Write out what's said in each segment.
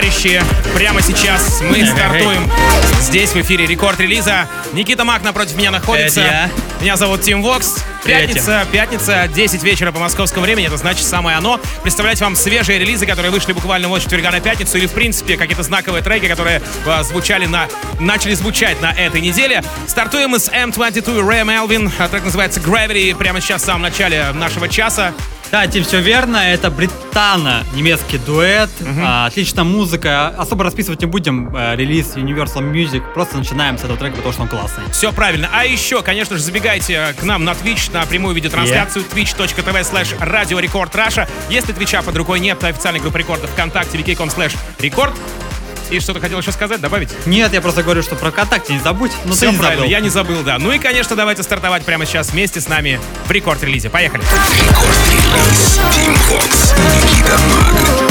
товарищи, прямо сейчас мы стартуем здесь в эфире рекорд-релиза. Никита Мак напротив меня находится. Это я. Меня зовут Тим Вокс. Пятница, 10 вечера по московскому времени, это значит самое оно. Представлять вам свежие релизы, которые вышли буквально вот с четверга на пятницу, или в принципе какие-то знаковые треки, которые начали звучать на этой неделе. Стартуем мы с M22 Ray Melvin. Трек называется Gravity, прямо сейчас в самом начале нашего часа. Да, Тим, все верно. Это британо-немецкий дуэт. Отличная музыка. Особо расписывать не будем. Релиз Universal Music. Просто начинаем с этого трека, потому что он классный. Все правильно. А еще, конечно же, забегайте к нам на Twitch, на прямую видеотрансляцию twitch.tv/Radio Record Russia. Если Твича под рукой нет, то официальной группы рекорда ВКонтакте wiki.com/record. И что-то хотел еще сказать, добавить? Нет, я просто говорю, что про ВКонтакте не забудь. Но все ты не правильно, забыл. я не забыл, да. Ну и, конечно, давайте стартовать прямо сейчас вместе с нами в рекорд-релизе. Поехали. Рекорд-релиз. Тим Вокс, Никита Мак.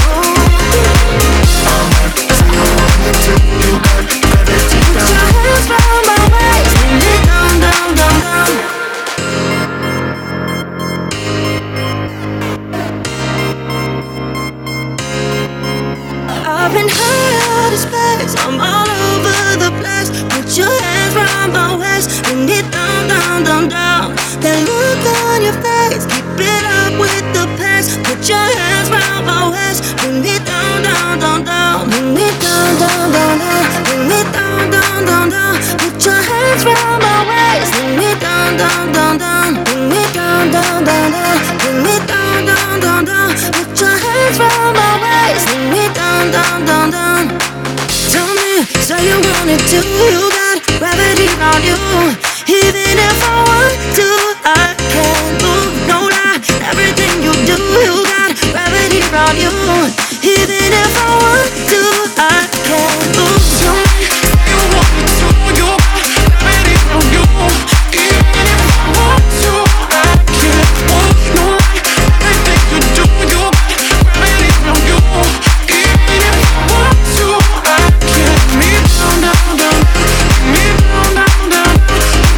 I've been high out of space, I'm all over the place. Put your hands round my waist, bring it down, down, down, down. That look on your face, keep it up with the pace. Put your hands round my waist, bring it down, down, down, down. Bring it down, down, down, down. Bring it down, down, down, down. Put your hands round my waist, bring it down, down, down, down. Bring it down, down, down, down. Bring it down, down, down, down. Put your hands round my waist, bring it down, down, down, down. Tell me, so you want it too. You got gravity on you. Even if I want to, I can't move. No lie, everything you do, you got gravity on you. Even if I want to, I can't move. Tell me, so you want it too. You got gravity on you. Even if I want to, I can't move. No lie, everything you do, you got gravity on you. Even if I want to, I can't. Me down, down, down, me down, down, down,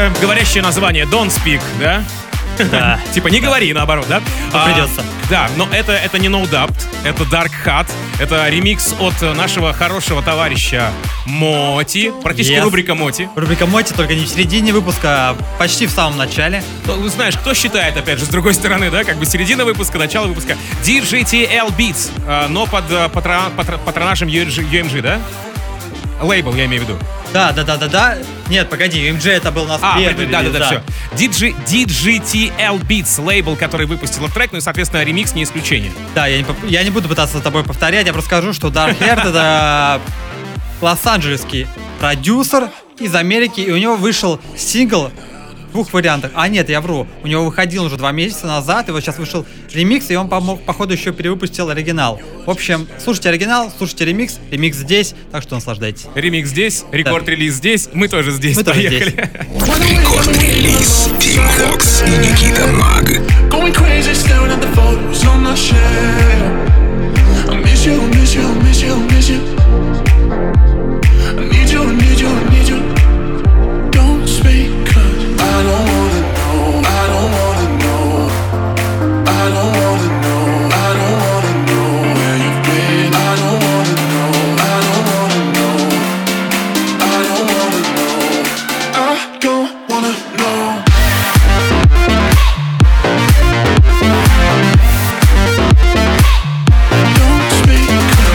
такое говорящее название Don't Speak, да? Да. Типа не говори, наоборот, да? Придется. Да, но это не No Doubt, это Dark Hat, это ремикс от нашего хорошего товарища Моти, практически Yes. рубрика Моти. Рубрика Моти, только не в середине выпуска, а почти в самом начале. Ну, знаешь, кто считает, опять же, с другой стороны, да, как бы середина выпуска, начало выпуска. DJTL Beats, но под патронажем UMG, да? Лейбл, я имею в виду. Да. Нет, погоди, UMG это был у нас первый да, релиз, все. DJTL Beats, лейбл, который выпустил трек, ну и, соответственно, ремикс не исключение. Да, я не буду пытаться с тобой повторять, я просто скажу, что Dark Heart это лос-анджелесский продюсер из Америки, и у него вышел сингл в двух вариантах. А нет, я вру. У него выходил уже 2 месяца назад, и вот сейчас вышел ремикс, и он, походу, еще перевыпустил оригинал. В общем, слушайте оригинал, слушайте ремикс, ремикс здесь, так что наслаждайтесь. Ремикс здесь, рекорд-релиз здесь, мы тоже здесь. Мы тоже Поехали. Рекорд-релиз Team Vox и Никита Маг. Going crazy, staring at the photos on my shelf. I miss you, miss you, miss you, miss you. I need you, need you, need you. Don't speak, 'cause I don't wanna know, I don't wanna know. I don't wanna know, I don't wanna know where you've been. I don't wanna know, I don't wanna know. I don't wanna know, I don't wanna know. Don't speak.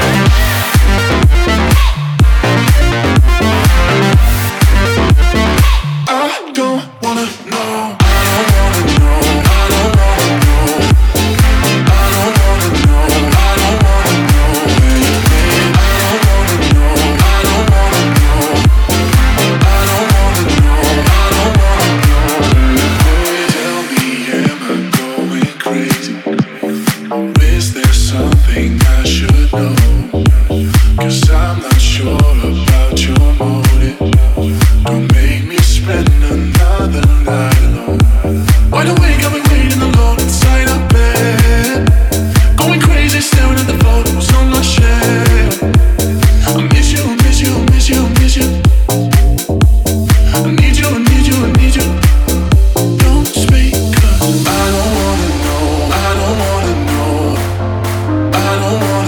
I don't wanna know. I don't wanna know. I don't wanna know. I don't wanna know. I don't wanna know where you've been. I don't wanna know. I don't wanna know. I don't wanna know. I don't wanna know. Tell me, am I going crazy? Is there something I should know? 'Cause I'm not sure about your motive. Don't make me spend another night alone. Wide awake, I've been waiting alone inside a bed. Going crazy, staring at the photos on my shelf. I miss you, miss you, miss you, miss you. I need you, I need you, I need you. Don't speak, 'cause I don't wanna know, I don't wanna know. I don't wanna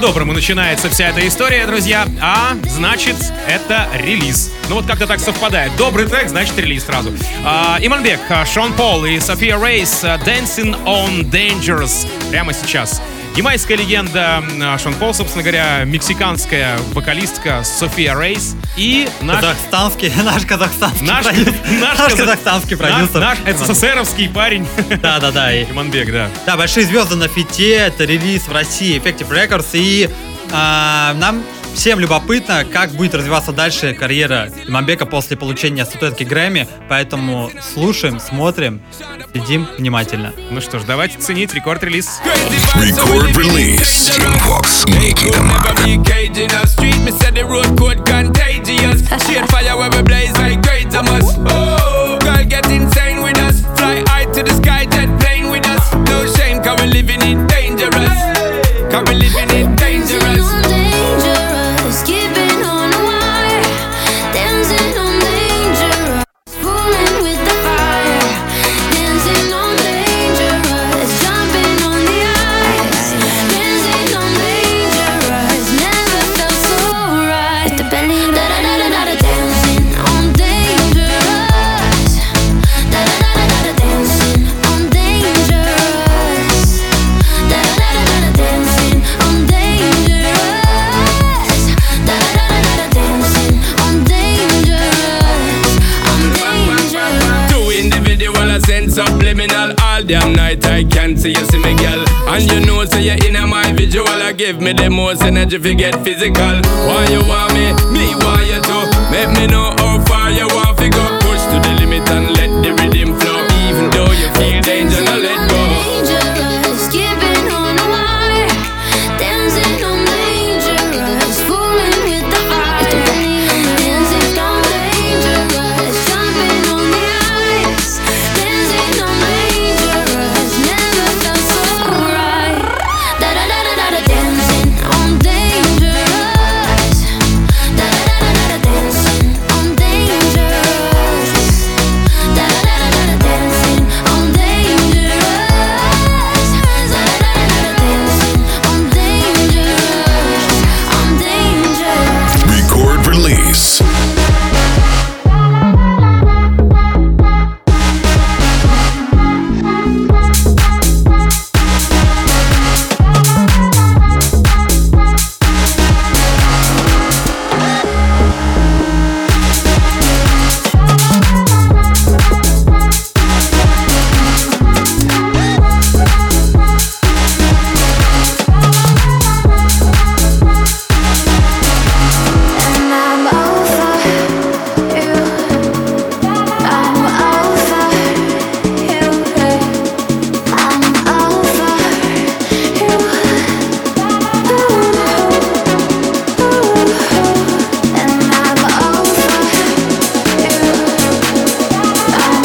по-доброму начинается вся эта история, друзья. А значит, это релиз. Ну вот как-то так совпадает. Добрый трек, значит релиз сразу. Иманбек, Шон Пол и София Рейс Dancing on Dangerous прямо сейчас. Ямайская легенда Шон Пол, собственно говоря, мексиканская вокалистка София Рейс и наш казахстанский продюсер. Наш СССРовский парень. Да. Иманбек, да. Да, большие звезды на фите, это релиз в России Effective Records, и нам всем любопытно, как будет развиваться дальше карьера Иманбека после получения статуэтки Грэмми, поэтому слушаем, смотрим, следим внимательно. Ну что ж, давайте ценить рекорд-релиз. Record-release. Team Vox и Никита Мак. Keeping on a wire, dancing on dangerous, fooling with the fire, dancing on dangerous, jumping on the ice, dancing on dangerous, never felt so right. With the belly, da da da da da, dancing on dangerous, da da da da da, dancing on dangerous, da da da da da, dancing on dangerous. Subliminal all damn night I can't see you see me girl. And you know so you're in my visual. I give me the most energy if you get physical. Why you want me want you too. Make me know how far you want to go. Push to the limit and let the rhythm flow. Even though you feel danger, now let go. Dangerous, keeping on a wire, dancing on dangerous, fooling with the fire, dancing on dangerous, jumping on the ice, dancing on dangerous, never felt so right. Da da da da da, dancing on dangerous, da da da da da, dancing on dangerous, da da da da da, dancing on dangerous, da da da da da, dancing on dangerous, Record release. and I'm over you. I'm over you. I'm over you. And I'm over you. I'm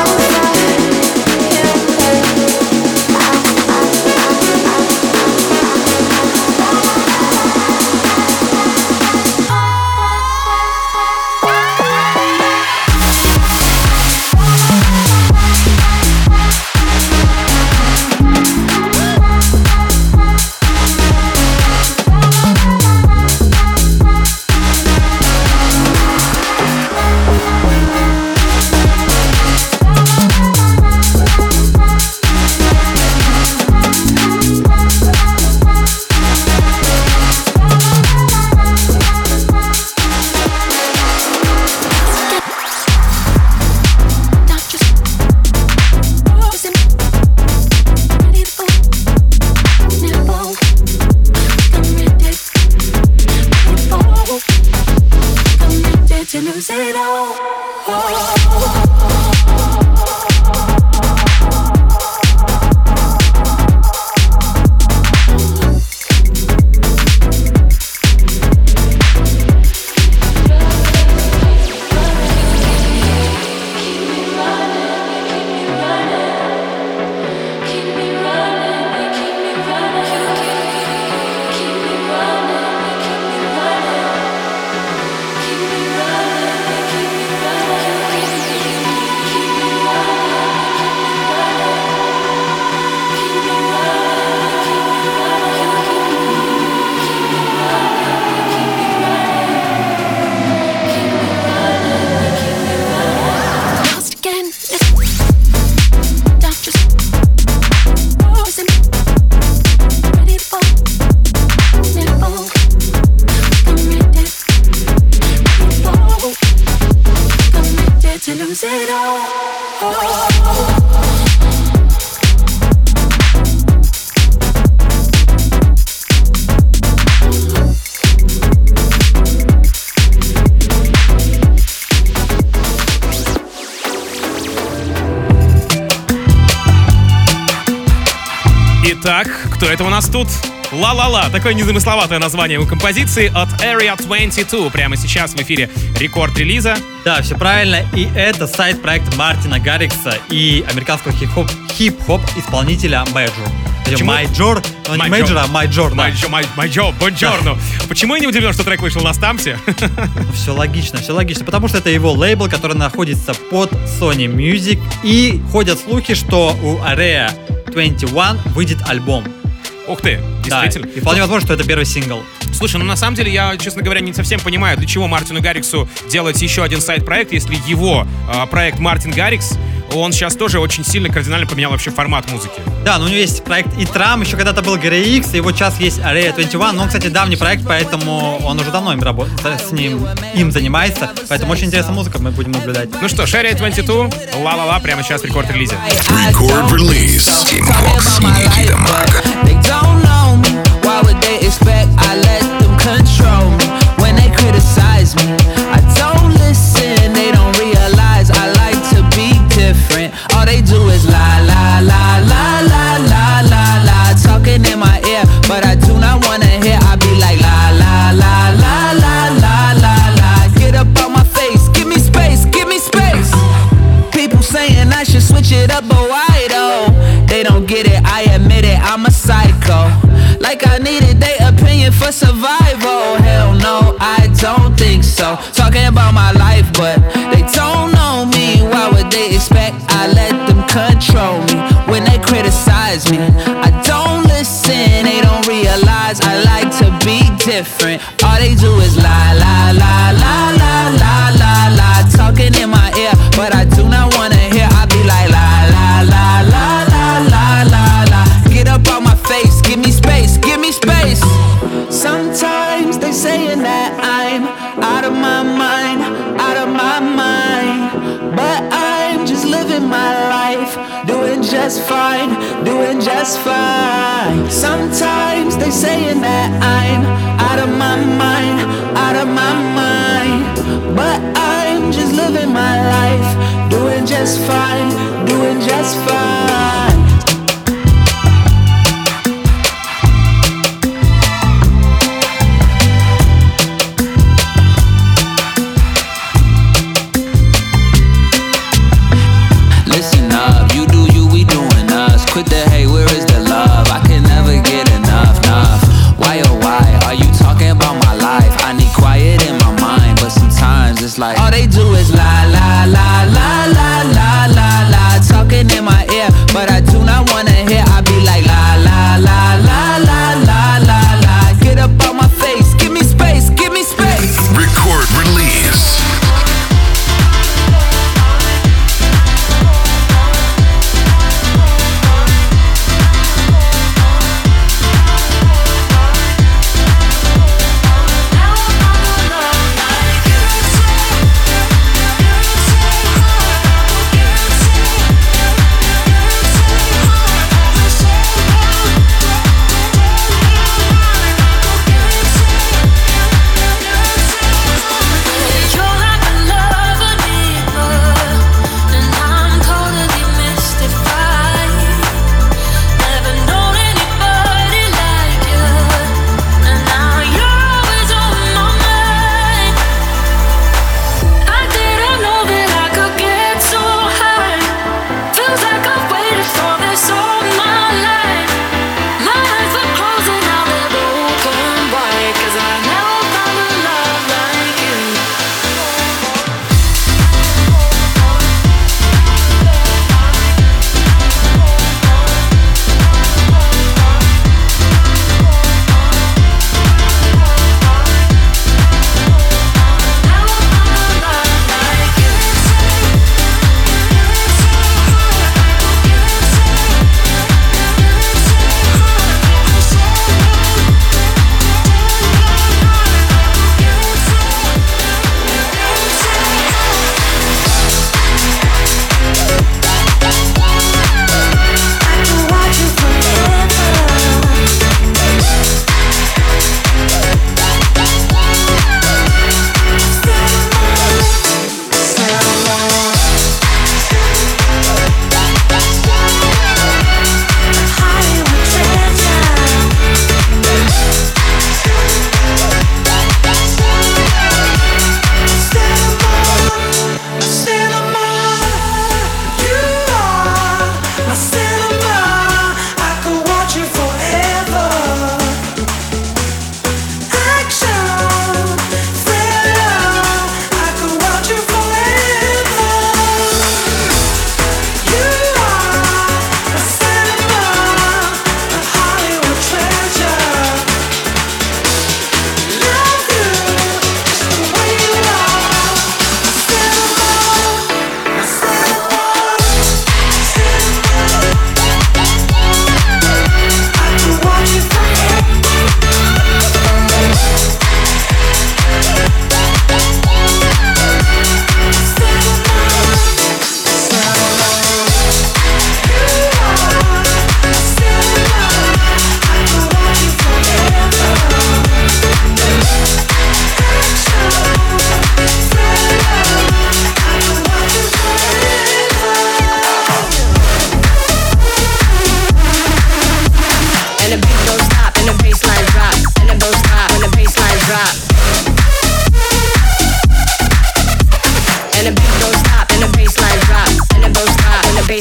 to lose it all. Итак, кто это у нас тут? «Ла-ла-ла». Такое незамысловатое название у композиции от Area 22. Прямо сейчас в эфире рекорд релиза. Да, все правильно. И это сайт-проект Мартина Гаррикса и американского хип-хоп исполнителя Major. Major, но не Major, а Major. Major, бонджорно. Почему я не удивлен, что трек вышел на Стампсе? Все логично, потому что это его лейбл, который находится под Sony Music. И ходят слухи, что у Area 21 выйдет альбом. Ух ты, действительно. Да, и вполне возможно, что это первый сингл. Слушай, ну на самом деле я, честно говоря, не совсем понимаю, для чего Мартину Гарриксу делать еще один сайт-проект, если его проект Мартин Гаррикс, он сейчас тоже очень сильно кардинально поменял вообще формат музыки. Да, но у него есть проект Итрам, еще когда-то был Грей Икс, и вот сейчас есть Area 21, но он, кстати, давний проект, поэтому он уже давно им занимается, поэтому очень интересная музыка, мы будем наблюдать. Ну что, Area 22, «Ла-ла-ла», прямо сейчас в рекорд-релизе. Record release. Team Vox и Никита Мак. Don't know me, why would they expect I let them control me? When they criticize me, I don't listen, they don't realize I like to be different. All they do is lie, lie, lie, lie, lie, lie, lie, lie. Talking in my ear, but I do not wanna hear. I be like lie, lie, lie, lie, lie, lie, lie, lie. Get up on my face, give me space, give me space. People saying I should switch it up, but why though? They don't get it, I admit it, I'm a psycho. Like I needed their opinion for survival. Hell no, I don't think so. Talking about my life, but they don't know me. Why would they expect I let them control me? When they criticize me, I don't listen. They don't realize I like to be different. All they do is lie, lie, lie, lie, lie, lie, lie, lie. Talking in my ear, but I do not wanna hear. I be like lie, lie, lie, lie, lie, lie, lie, lie. Get up on my face, give me space, give me space. Sometimes they saying that I'm out of my mind, out of my mind. But I'm just living my life, doing just fine, doing just fine. Sometimes they saying that I'm out of my mind, out of my mind. But I'm just living my life, doing just fine, doing just fine. Quit the hate, where is the love? I can never get enough, enough. Why oh why are you talking about my life? I need quiet in my mind, but sometimes it's like all they do is lie, lie, lie, lie, lie, lie, lie, lie. Talking in my ear, but I do not wanna hear. I be like lie, lie, lie, lie, lie, lie, lie, lie. Get up on my face, give me space, give me space. Record release.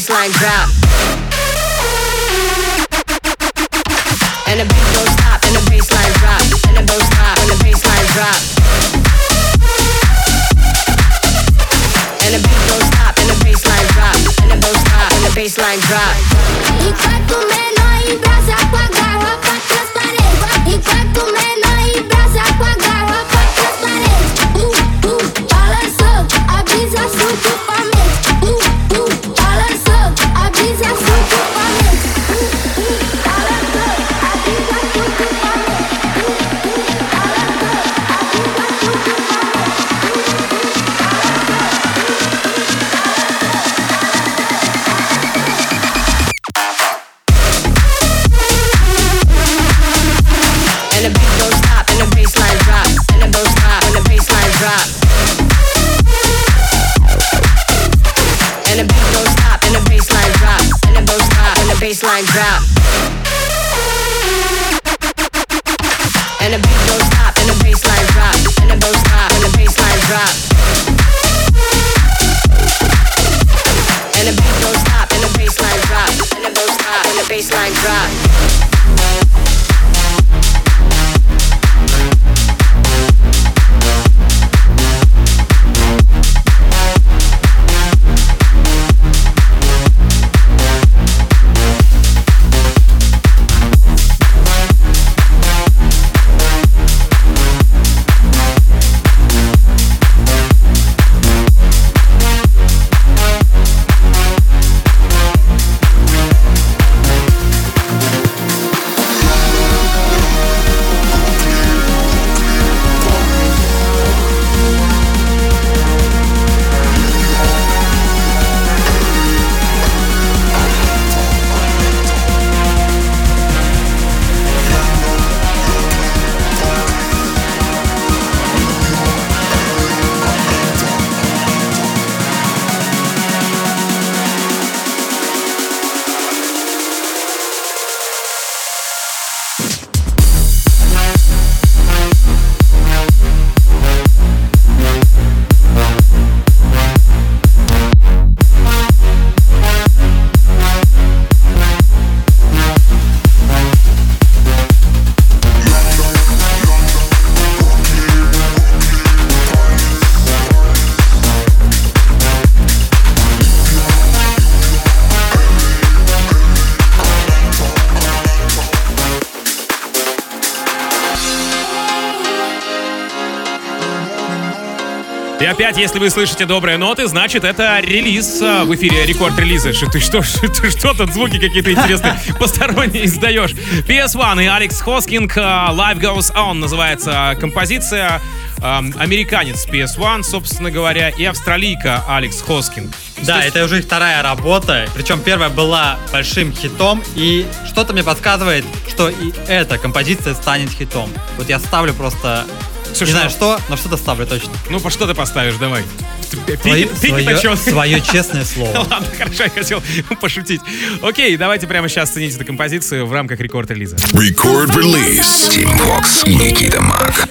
baseline drop. And the beat don't stop, and the baseline drop, and the don't stop, and the baseline drop. And the beat don't stop, and the baseline drop, and the don't stop, and the baseline drop. Enquanto menor embrasa com a garrafa transparente. Enquanto menor embrasa com a garrafa transparente. Balançou, a brisa subitamente. Balançou, a brisa subitamente. Balançou, a brisa subitamente. And the beat don't stop, and the baseline drop, and the don't stop, and the baseline drop. And the beat don't stop, and the baseline drop, and the don't stop, and the baseline drop. And the beat don't stop, and the baseline drop, and the don't stop, and the baseline drop. And the beat don't stop, and the baseline drop, and the don't stop, and the baseline drop. И опять, если вы слышите добрые ноты, значит, это релиз в эфире рекорд-релиза. Ты что тут звуки какие-то интересные посторонние издаешь? PS1 и Алекс Хоскинг, Life Goes On называется композиция. Американец PS1, собственно говоря, и австралийка Алекс Хоскинг. Да, это уже их вторая работа, причем первая была большим хитом, и что-то мне подсказывает, что и эта композиция станет хитом. Вот я ставлю просто... Слушай, не знаю что, но что-то ставлю точно. Ну, по что ты поставишь, давай. Свое честное слово. Ладно, хорошо, я хотел пошутить. Окей, давайте прямо сейчас цените эту композицию в рамках рекорд-релиза. Рекорд-релиз. Тим Вокс и Никита Мак.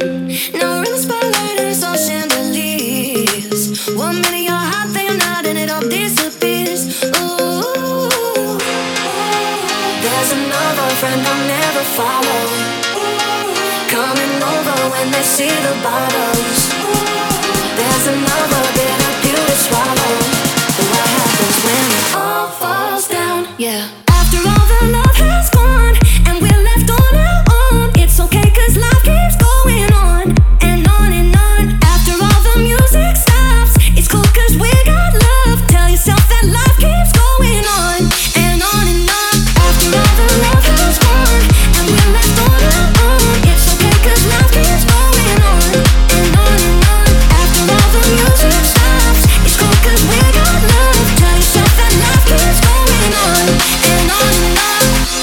Coming over when they see the bottles. There's another bitter pill to swallow. But what happens when it all falls down? Yeah. After all the love has gone and we're left on our own, it's okay 'cause life keeps going on and on and on. After all the music stops, it's cool 'cause we got love. Tell yourself that life keeps going on and on and on. After all the love has gone and we're left on our own, it's okay 'cause life keeps going on and on and on. After all the music stops, it's cool 'cause we got love. Tell yourself that life keeps going on and on and on.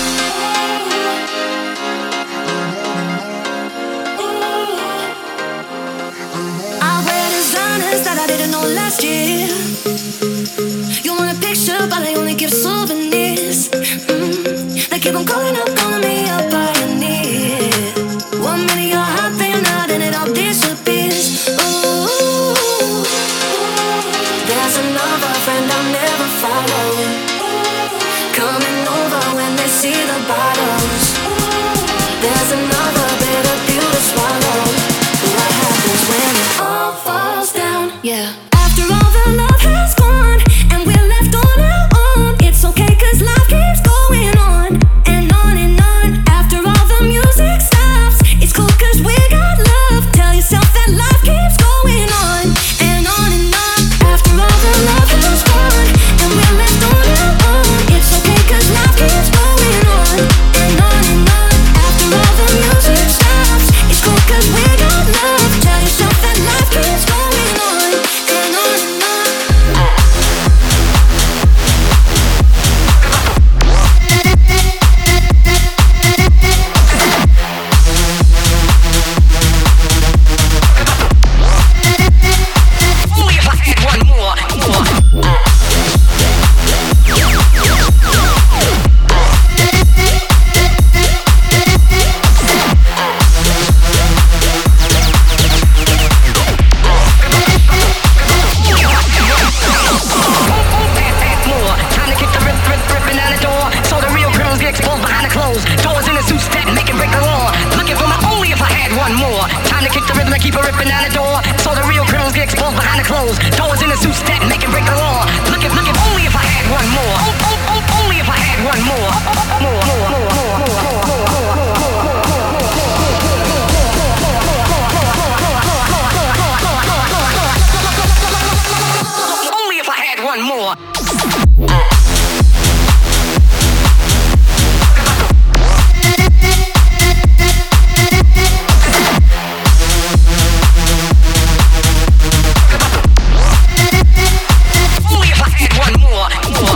I wear designers that I didn't know last year. You want a picture, but I only give souvenirs. They keep on calling me up, pioneer. 1 minute you're hot, then you're not, and it all disappears. Ooh, there's another friend I'll never follow. all falls down. Yeah. After all the love has gone and we're left on our own, it's okay 'cause life keeps going on and on and on. After all the music stops, it's cool 'cause we got love. Tell yourself that life keeps going on and on and on. After all the love has gone and we're left on our own, it's okay 'cause life keeps going on and on and on. After all the music stops, it's cool 'cause we got love. Tell yourself that life keeps going on and on and on. Only if I had one more. Time to kick the ripping down the door, so the real criminals get exposed behind the clothes. Doors in the suits that make and break the law. Looking for my only if I had one more. Time to kick the rhythm and keep it ripping down the door, so the real criminals get exposed behind the clothes. Doors in the suits that make and break the law. Looking only if I had one more. Only if I had one more. Only if I had one more. Only if I had one more.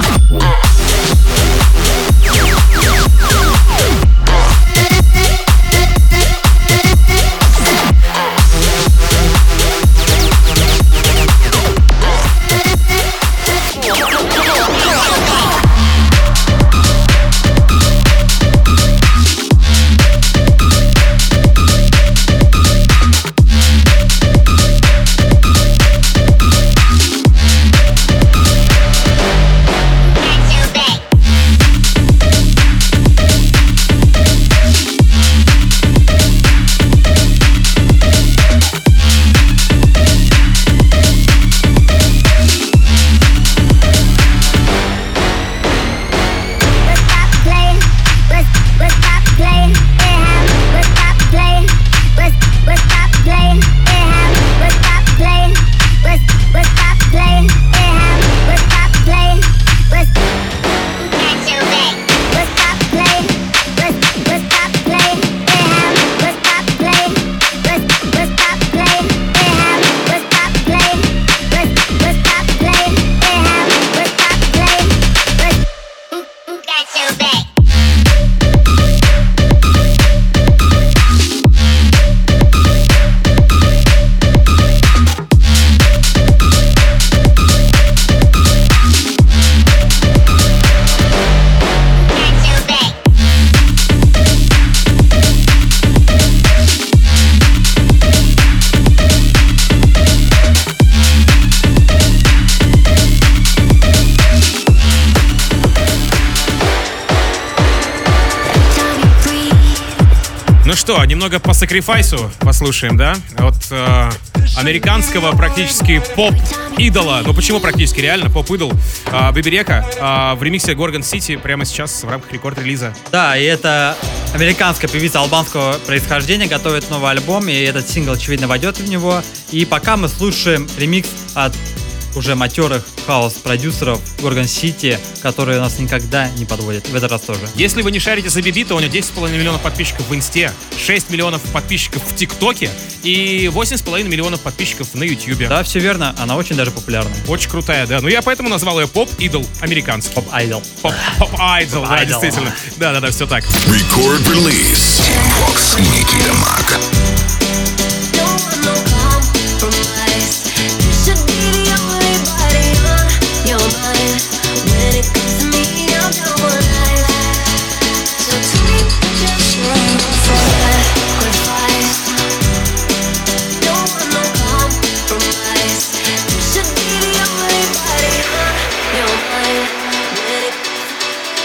Ну что, немного по сакрифайсу послушаем, да? От американского практически поп-идола. Ну почему практически, реально поп-идол Бэби Река в ремиксе Горгон Сити прямо сейчас в рамках рекорд-релиза. Да, и это американская певица албанского происхождения готовит новый альбом, и этот сингл, очевидно, войдет в него. И пока мы слушаем ремикс от уже матерых хаос-продюсеров Горгон Сити, которые нас никогда не подводят. В этот раз тоже. Если вы не шарите за Биби, то у него 10,5 миллионов подписчиков в Инсте, 6 миллионов подписчиков в ТикТоке и 8,5 миллионов подписчиков на Ютьюбе. Да, все верно. Она очень даже популярная. Очень крутая, да. Ну я поэтому назвал ее поп-идол американский. Поп-айдол. Поп-айдол, да, действительно. Да, все так. Record release. Team Fox и Никита Мак.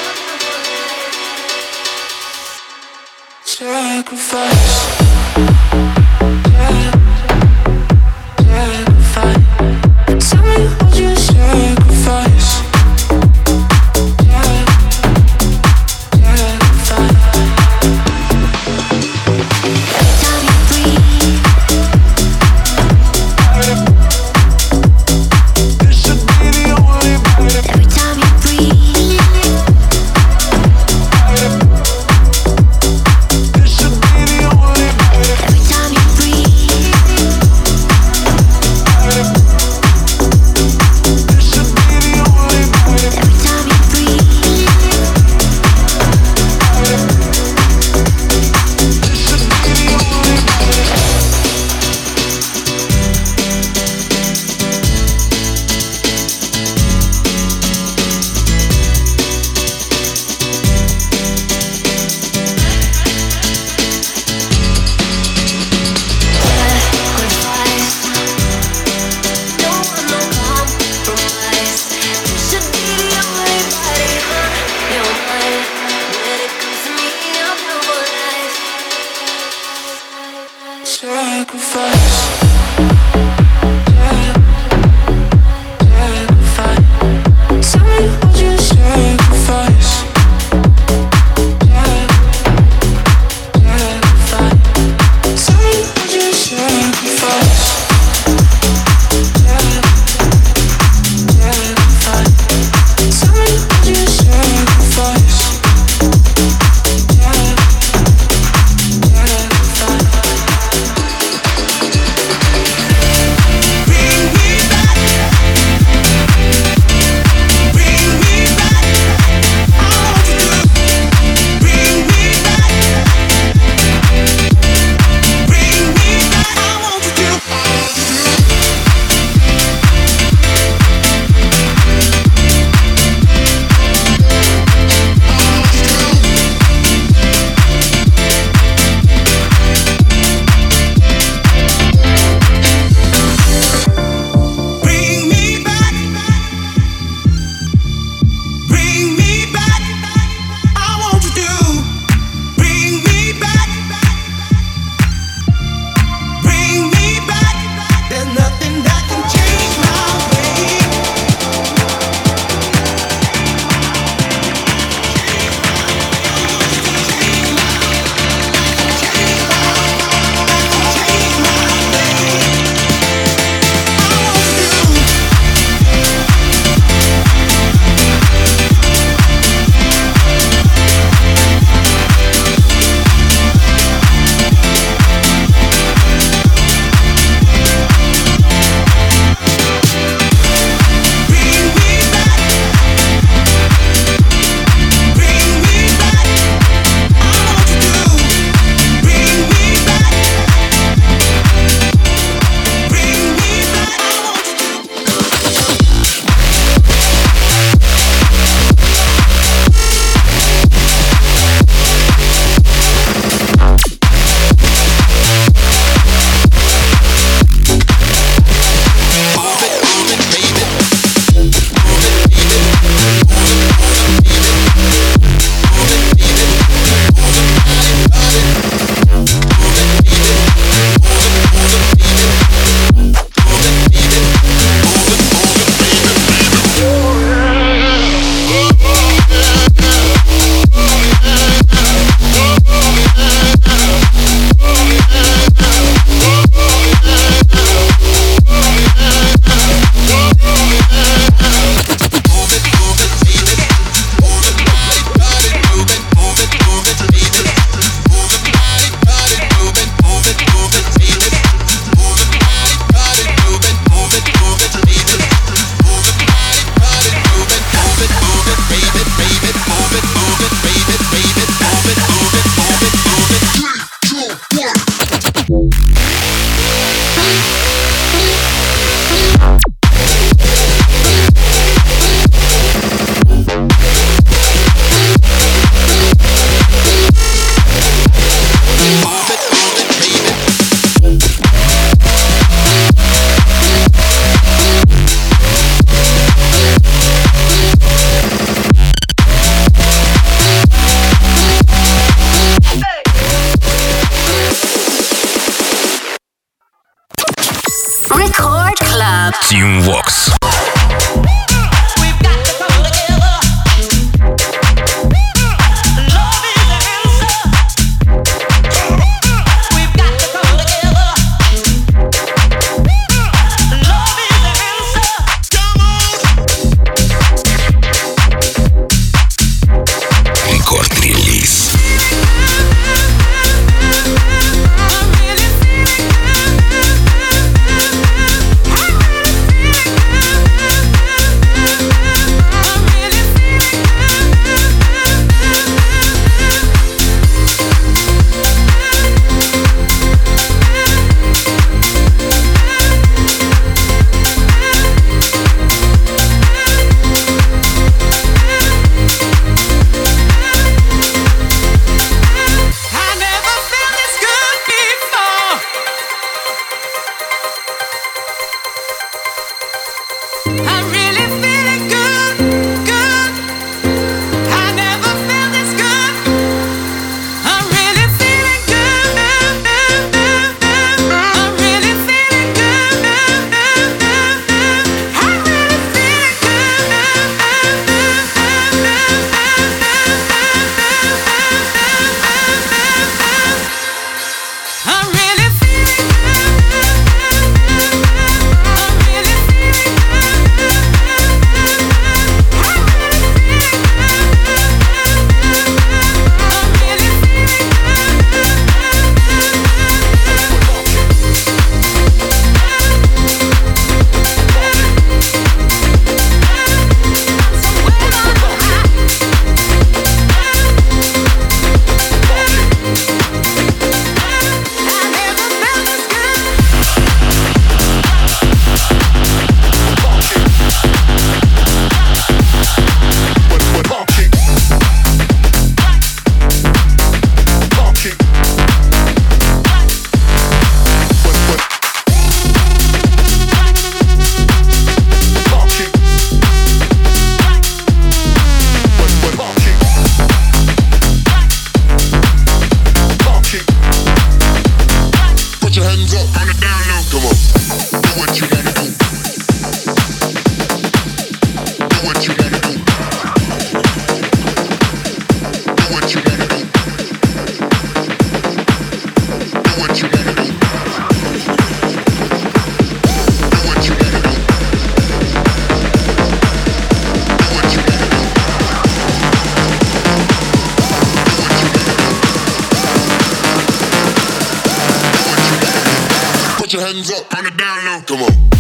Sacrifice. Team Vox. Рекорд-релиз. Put your hands up on the down low. Come on.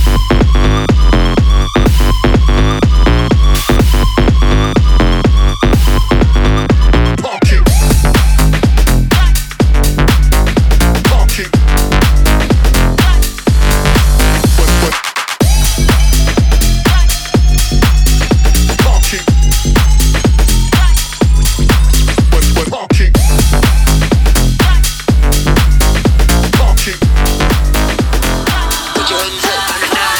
Put your hands up on the down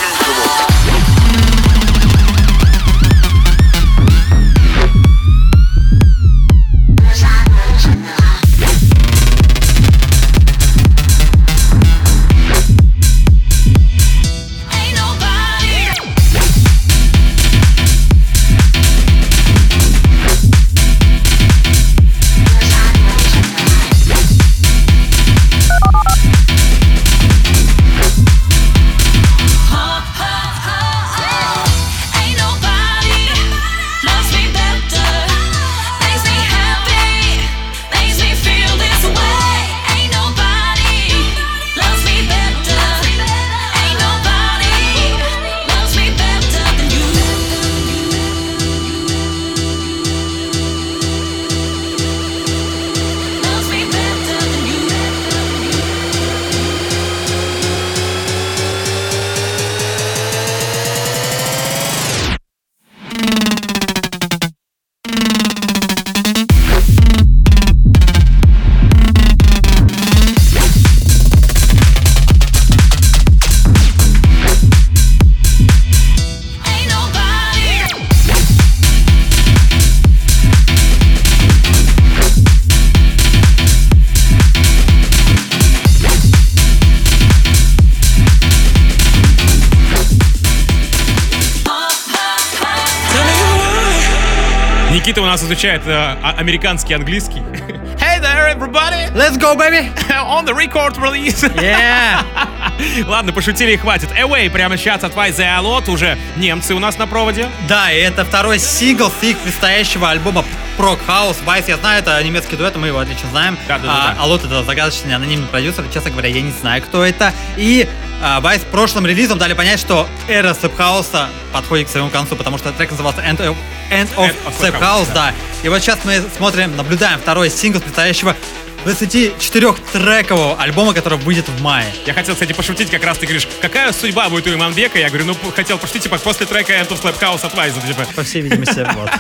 Никита у нас изучает американский английский. Hey there, everybody! Let's go, baby! On the record release! Yeah! Ладно, пошутили и хватит. Away прямо сейчас от Vice и Alot. Уже немцы у нас на проводе. Да, и это второй сингл с их предстоящего альбома Prog House. Vice, я знаю, это немецкий дуэт, мы его отлично знаем. Да. Alot — это загадочный анонимный продюсер. Честно говоря, я не знаю, кто это. И Vice прошлым релизом дали понять, что эра слэп-хауса подходит к своему концу, потому что трек назывался End of Slap House, да. И вот сейчас мы смотрим, наблюдаем второй сингл предстоящего 24-трекового альбома, который выйдет в мае. Я хотел, кстати, пошутить, как раз ты говоришь, какая судьба будет у Иманбека? Я говорю, хотел пошутить, типа, после трека End of Slap House от Vice, типа. По всей видимости, вот.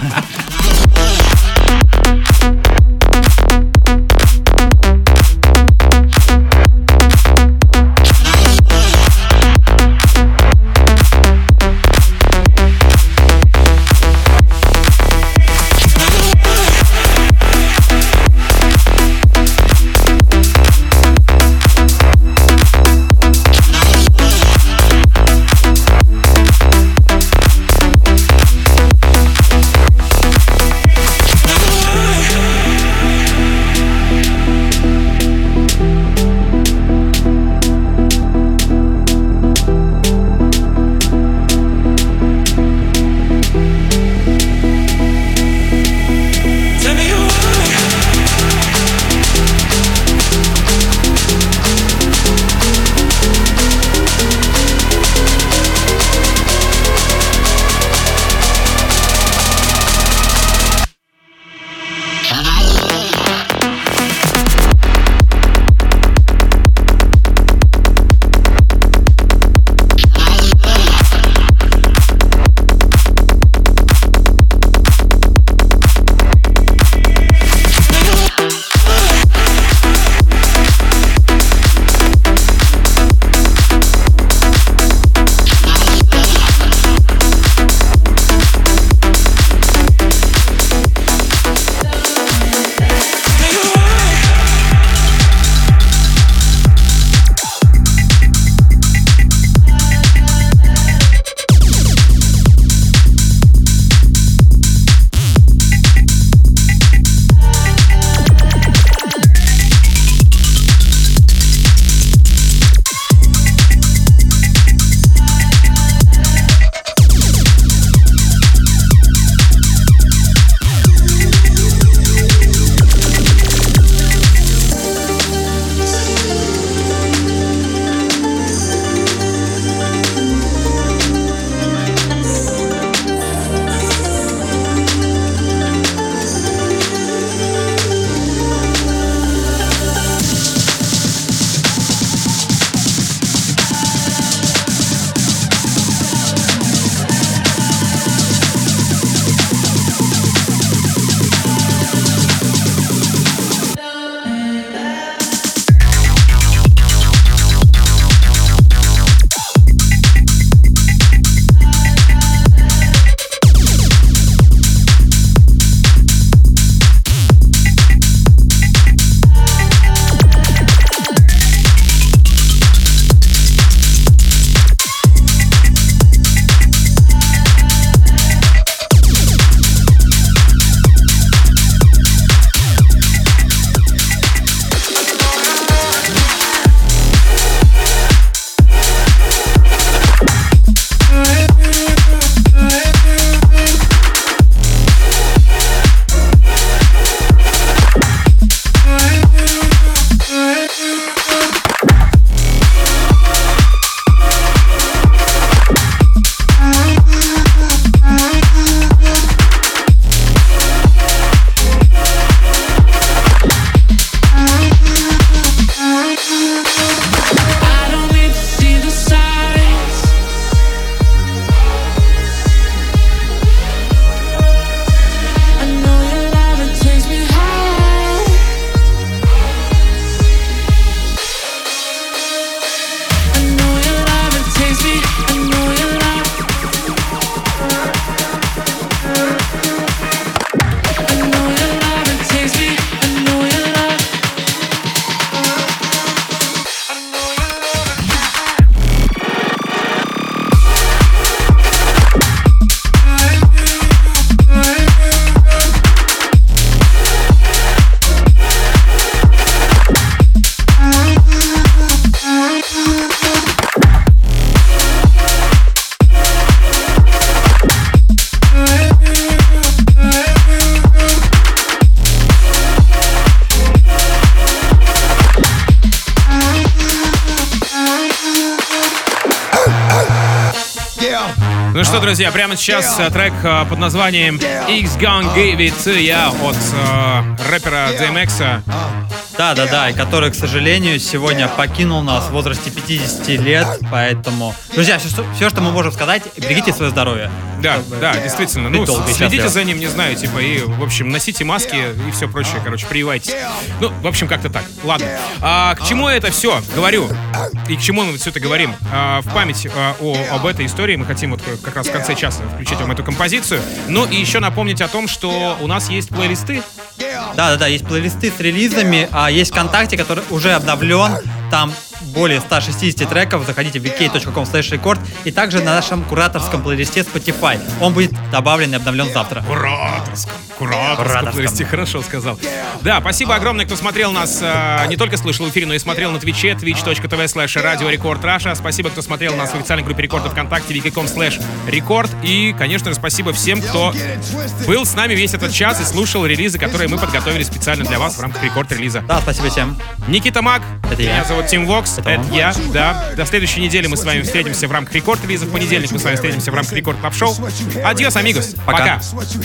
Ну что, друзья, прямо сейчас трек под названием X Gonna Give It To Ya от рэпера DMX. Да, и который, к сожалению, сегодня покинул нас в возрасте 50 лет, поэтому... Друзья, все, что мы можем сказать, берегите свое здоровье. Да, действительно. Ну, следите за ним, не знаю, типа, и, в общем, носите маски и все прочее, короче, прививайтесь. Ну, в общем, как-то так. Ладно. К чему я это все говорю? И к чему мы все это говорим? В память об этой истории мы хотим вот как раз в конце часа включить вам эту композицию. Ну, и еще напомнить о том, что у нас есть плейлисты. Да, есть плейлисты с релизами, есть ВКонтакте, который уже обновлен, там более 160 треков, заходите в vk.com/record, и также на нашем кураторском плейлисте Spotify. Он будет добавлен и обновлен завтра. Кураторском плейлисте, хорошо сказал. Да, спасибо огромное, кто смотрел нас, не только слышал в эфире, но и смотрел на Твиче, twitch.tv/Radio Record Russia. Спасибо, кто смотрел нас в официальной группе Рекорда ВКонтакте, vk.com/record. И, конечно же, спасибо всем, кто был с нами весь этот час и слушал релизы, которые мы подготовили специально для вас в рамках рекорд-релиза. Да, спасибо всем. Никита Мак, это я. Меня зовут Тим Вокс, это я, да. До следующей недели мы с вами встретимся в рамках рекорд-релиза. В понедельник мы с вами встретимся в рамках рекорд-клаб-шоу. Адьос, амигос. Пока.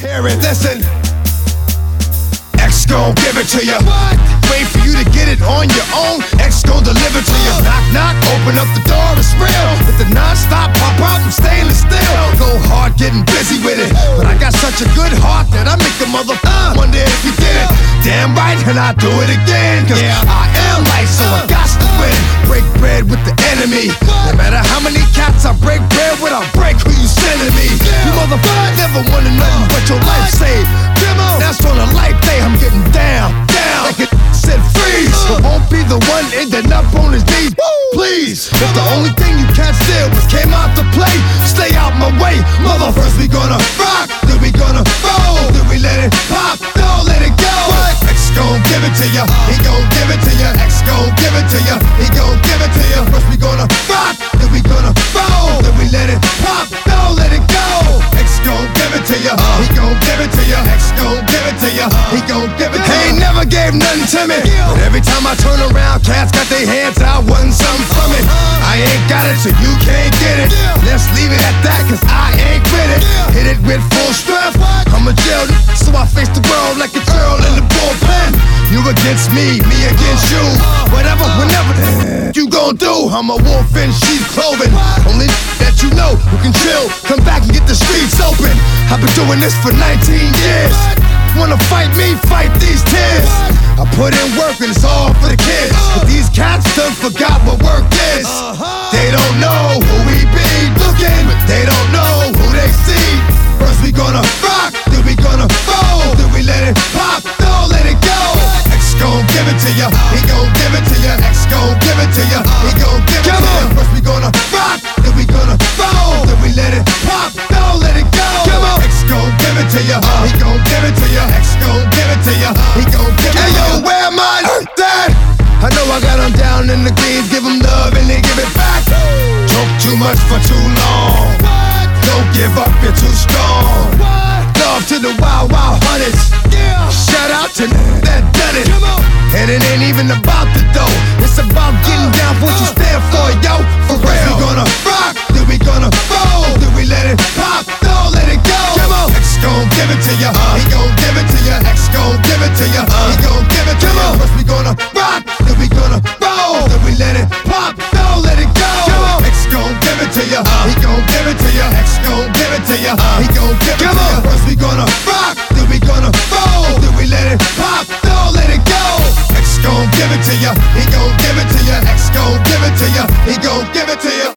X gon' give it to ya. Wait for you to get it on your own. X gon' deliver to ya. Knock, knock, open up the door, it's real. With the non-stop pop out from stainless steel. Go hard, getting busy with it. But I got such a good heart that I make a mother wonder if you did it. Damn right, and I do it again. Cause I am light, so I got to win. Break bread with the enemy. No matter how many cats I break bread with, I'll break who you sending me. You motherfuckers never wanna know what your life saved. That's on a life day, I'm getting down, like it said freeze. But won't be the one ending up on his knees, please. If the only thing you can't steal was came out to play, stay out my way, mother. First we gonna rock, then we gonna roll, then we let it pop, don't let it go. X gon' give it to ya, he gon' give it to ya. X gon' give it to ya, he gon' give it to ya. First we gonna rock, then we gonna roll, then we let it pop, don't let it go. X gon' give it to ya, he gon' give it to ya. X gon' give it to ya, he gon' give it to ya. He ain't never gave nothing to me, but every time I turn around, cats got their hands out, wanting something from it. I ain't got it, so you can't get it. Let's leave it at that, cause I ain't with it. Hit it with full strength, I'm a jail, so I face the world like a girl in the bullpen. You against me, me against you. Whatever, whenever you gon' do, I'm a wolf in sheep's clothing. Only that you know who can chill, come back and get the streets open. I've been doing this for 19 years. Wanna fight me, fight these tears. I put in work and it's all for the kids. But these cats done forgot what work is. They don't know who we be looking, but they don't know who they see. First we gonna rock, then we gonna roll, then we let it pop, don't let it go. X gon' give it to ya, he gon' give it to ya. X gon' give it to ya, he gon' give it to ya. First we gonna rock, then we gonna roll, then we let it pop, don't let it go. X gon' give it to ya, he gon' give it to ya. X gon' give it to ya, he gon' give it to ya. Hey yo, where my dad? I know I got them down in the greens, give them love and they give it back. Talk too much for too long. Don't give up, you're too strong. Love to the wild, wild hunters. Shout out to that done it. And it ain't even about the dough. It's about getting down for what you stand for, yo. For real. We gonna rock, then we gonna roll, then we let it pop, don't let it go. X gon' give it to ya, he gon' give it to ya. X gon' give it to ya, he gon' give it to ya. First we gonna rock, then we gonna roll, then we let it pop, don't let it go. X gon' give it to ya, he gon' give it to ya. X gon' give it to ya, he gon' give it to ya. First we gonna rock, then we gonna roll, then we let it pop, don't let it go. X gon' give it to ya, he gon' give it to ya. X gon' give it to ya, he gon' give it to ya.